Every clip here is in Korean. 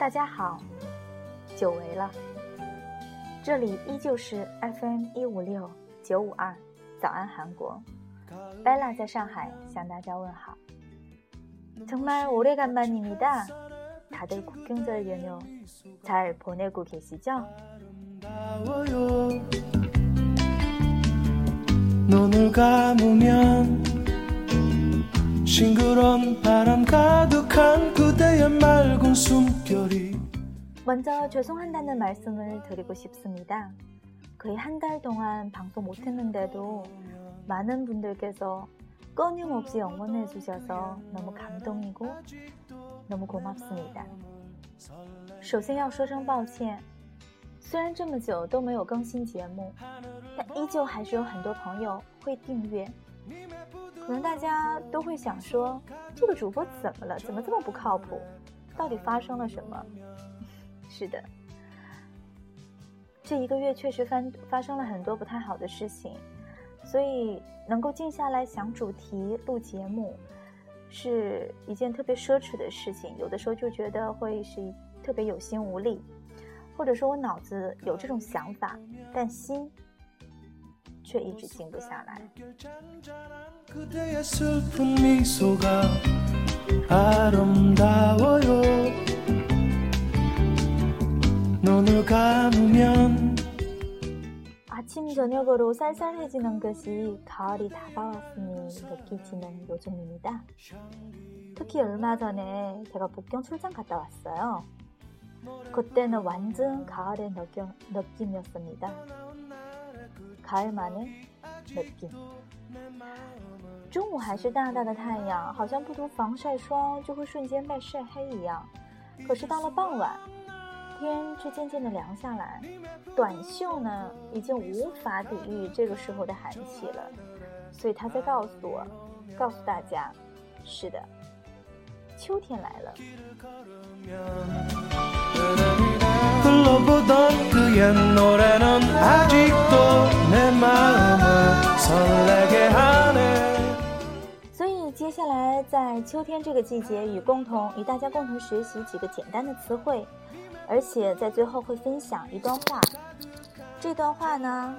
大家好，久违了，这里依旧是 FM156952早安韩国，Bella在上海向大家问好。정말 오래간만입니다. 다들 국경절 연휴 잘 보내고 계시죠? 눈을 감으면 싱그러운 바람 가득한 그대의 맑은 숨결이 먼저 죄송한다는 말씀을 드리고 싶습니다. 거의 한 달 동안 방송 못했는데도 많은 분들께서 끊임없이 응원해 주셔서 너무 감동이고 너무 고맙습니다. 首先要说声抱歉，虽然这么久都没有更新节目，但依旧还是有很多朋友会订阅。可能大家都会想说，这个主播怎么了？怎么这么不靠谱？到底发生了什么？是的，这一个月确实发生了很多不太好的事情，所以能够静下来想主题录节目是一件特别奢侈的事情，有的时候就觉得会是特别有心无力，或者说我脑子有这种想法，但心却一直静不下来。아침 저녁으로 쌀쌀해지는 듯이 가을이 다가왔으니 느끼지는 요즘입니다. 특히 얼마 전에 제가 북경 출장 갔다 왔어요. 그때는 완전 가을의 느낌이었습니다. 가을만의 느낌. 中午还是大大的太阳，好像不涂防晒霜就会瞬间被晒黑一样。可是到了傍晚，天却渐渐的凉下来，短袖呢已经无法抵御这个时候的寒气了。所以他在告诉大家，是的，秋天来了。所以接下来在秋天这个季节与大家共同学习几个简单的词汇，而且在最后会分享一段话。这段话呢，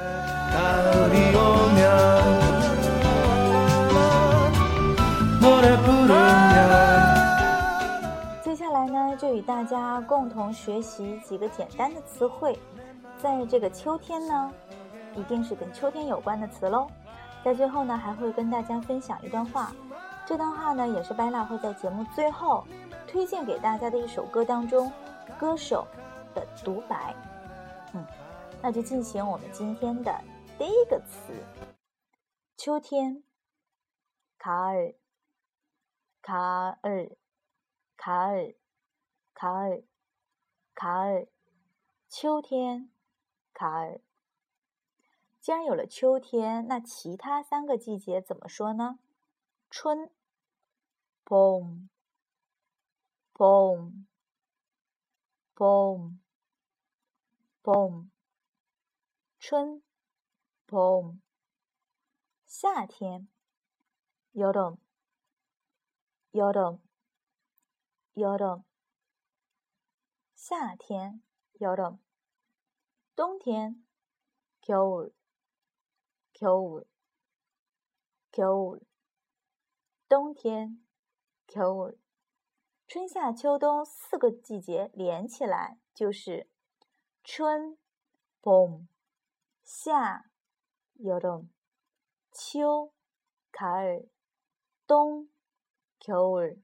接下来呢就与大家共同学习几个简单的词汇。在这个秋天呢，一定是跟秋天有关的词喽。在最后呢，还会跟大家分享一段话。这段话呢，也是Bella会在节目最后推荐给大家的一首歌当中歌手的独白。那就进行我们今天的第一个词，秋天。가을 가을 가을 가을 가을秋天가을。既然有了秋天，那其他三个季节怎么说呢？春봄 봄 봄 봄春봄。夏天여름 여름 여름夏天여름。冬天겨울 겨울 겨울冬天겨울。春夏秋冬四个季节连起来就是春봄夏여름秋가을冬겨울。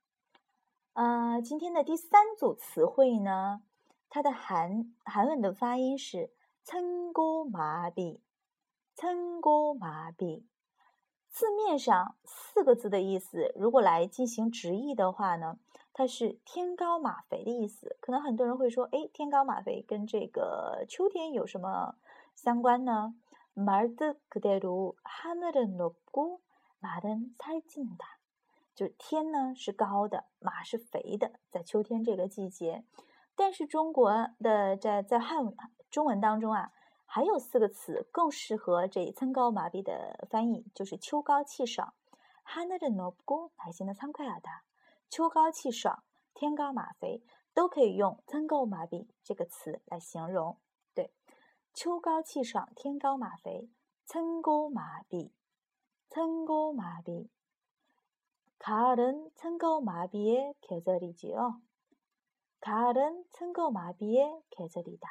今天的第三组词汇呢，它的韩文的发音是천고마비 천고마비。字面上四个字的意思，如果来进行直译的话呢，它是天高马肥的意思。可能很多人会说，天高马肥跟这个秋天有什么相关呢？말뜻그대로하늘은높고말은살찐다，就是天呢是高的，马是肥的，在秋天这个季节。但是中国的在中文当中啊，还有四个词更适合这천고마비的翻译，就是秋高气爽。하늘은 높고 날씨는 상쾌하다，秋高气爽，天高马肥。 都可以用增高麻痹这个词来形容。对，秋高气爽，天高马肥，增高麻痹，增高麻痹。가을은 천고마비의 계절이지요. 가을은 천고마비의 계절이다.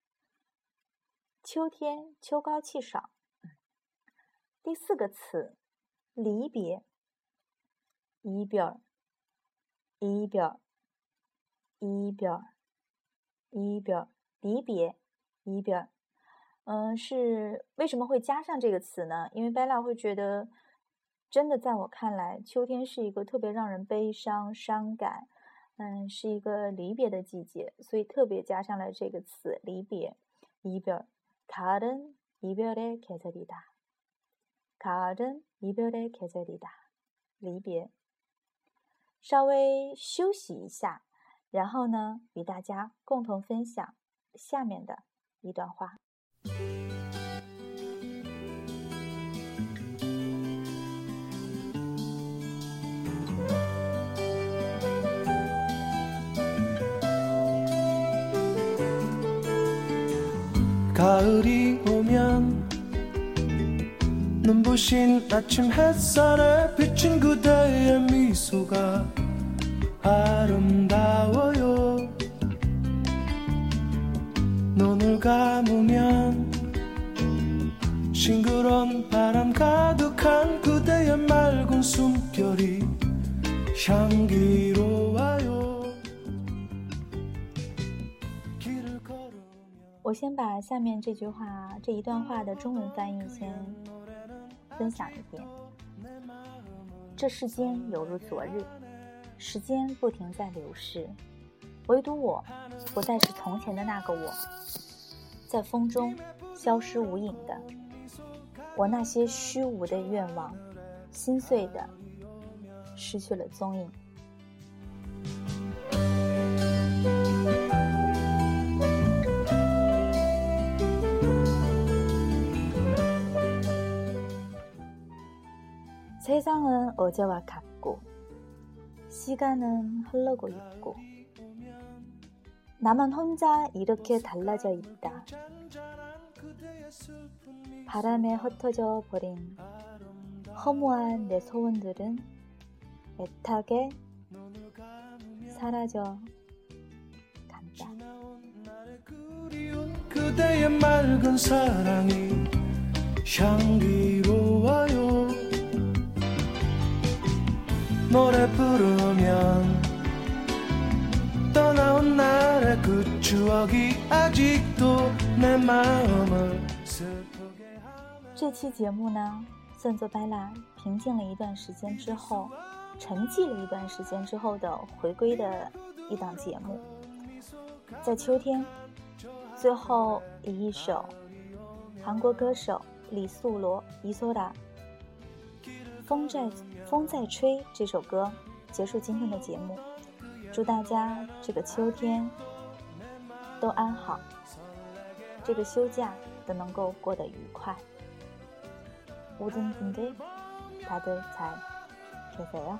秋天秋高气爽。第四个词，离别。이별，이별，이별，이별，离别，이별。是为什么会加上这个词呢？因为贝拉会觉得，真的在我看来，秋天是一个特别让人悲伤、伤感，是一个离别的季节，所以特别加上了这个词离别。이별， 가을은 이별의 계절이다. 가을은 이별의 계절이다. 离别。稍微休息一下，然后呢，与大家共同分享下面的一段话。 가을이 오면 눈부신 아침 햇살에 비친 그대의 미소가 아름다워요. 눈을 감으면 싱그러운 바람 가득한 그대의 맑은 숨결이 향기로워요. 我先把下面这一段话的中文翻译先分享一遍。这世间有如昨日，时间不停在流逝，唯独我不再是从前的那个我，在风中消失无影的。我那些虚无的愿望，心碎的失去了踪影。세상은 어제와 같고 시간은 흐르고 있고 나만 혼자 이렇게 달라져 있다. 바람에 흩어져 버린 허무한 내 소원들은 애타게 사라져 간다. 그대의 맑은 사랑이 향기로워요. 노래 부르면 떠나온 날의 그 추억이 아직도 내 마음을 슬프게 하네. 这期节目呢，算作Bella平静了一段时间之后，沉寂了一段时间之后的回归的一档节目。在秋天，最后以一首韩国歌手李素罗이소라风在吹这首歌结束今天的节目。祝大家这个秋天都安好，这个休假都能够过得愉快。모든분들 다들 잘 계세요?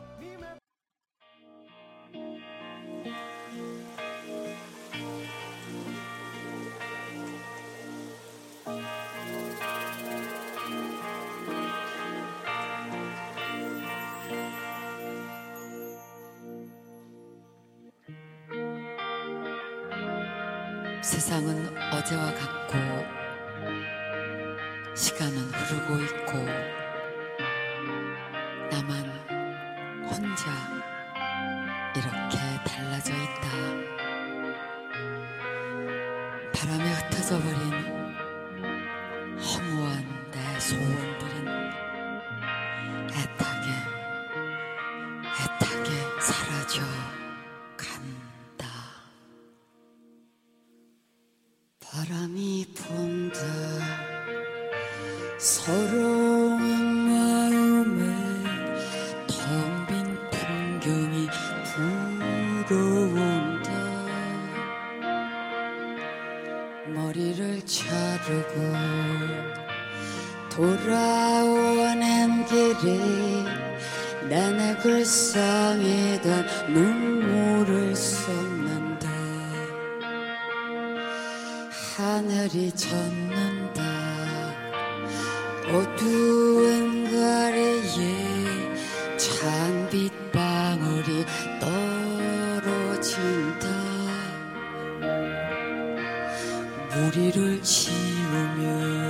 세상은 어제와 같고 시간은 흐르고 있고 나만 혼자 이렇게 달라져 있다. 바람에 흩어져 버린 허무한 내 소원들은 애타게 사라져 간다. 바람이 분다 서러운 마음에 텅 빈 풍경이 불어온다. 머리를 자르고 돌아오는 길이 내내 불쌍히던 눈물을 쏟는다. 하늘이 젖는다. 어두운 거리에 찬빛방울이 떨어진다. 무리를 지우며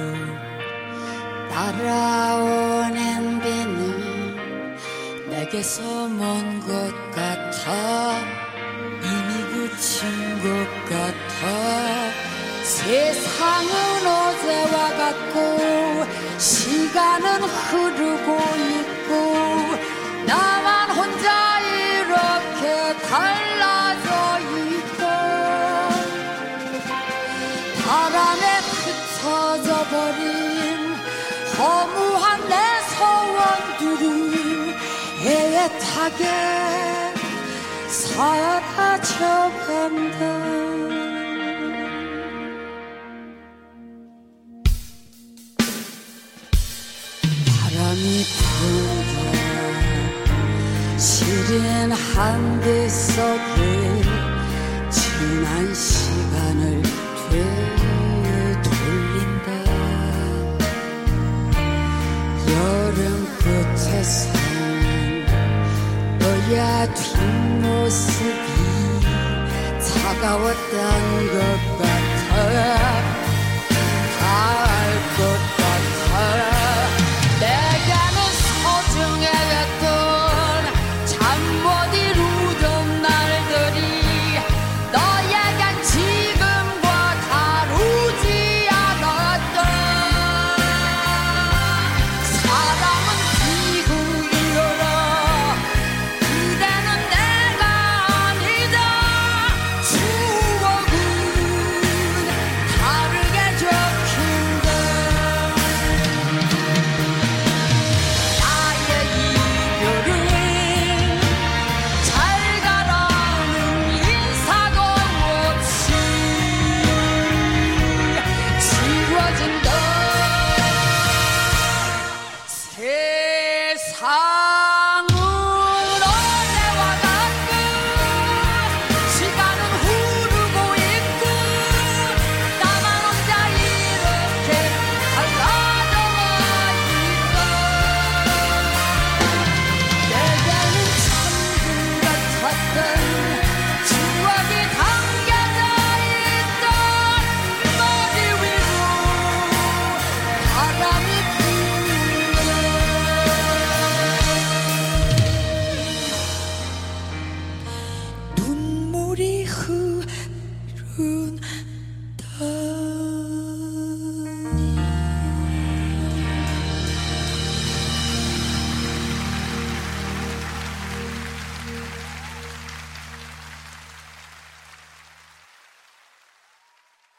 따라오는 비는 내게서 먼 것 같아. 이미 그친 것 같아. 세상은 어제와 같고 시간은 흐르고 있고 나만 혼자 이렇게 달라져 있고 바람에 흩어져 버린 허무한 내 소원들이 애타게 사라져간다. 바람이 분다. 시린 한대 속에 지난 시간을 되돌린다. 여름 끝에서 너야 뒷모습이 차가웠던 것 같아. 갈 것 같아. 내게는 소중했던 잠 못 이루던 날들이 너에겐 지금과 다르지 않았던. 사랑은 피고 일어나 그대는 내가 아니다. 추억은 다르게 적힌다. 나의 이별은 잘 가라는 인사도 없이 지워진다. 세상은 어제와 같고 시간은 흐르고 있고 나만 혼자 이렇게 달라져와 있다. 내게는 천국 같았던 추억이 담겨져 있던 머리 위로 바람이 불어. 눈물이 흐른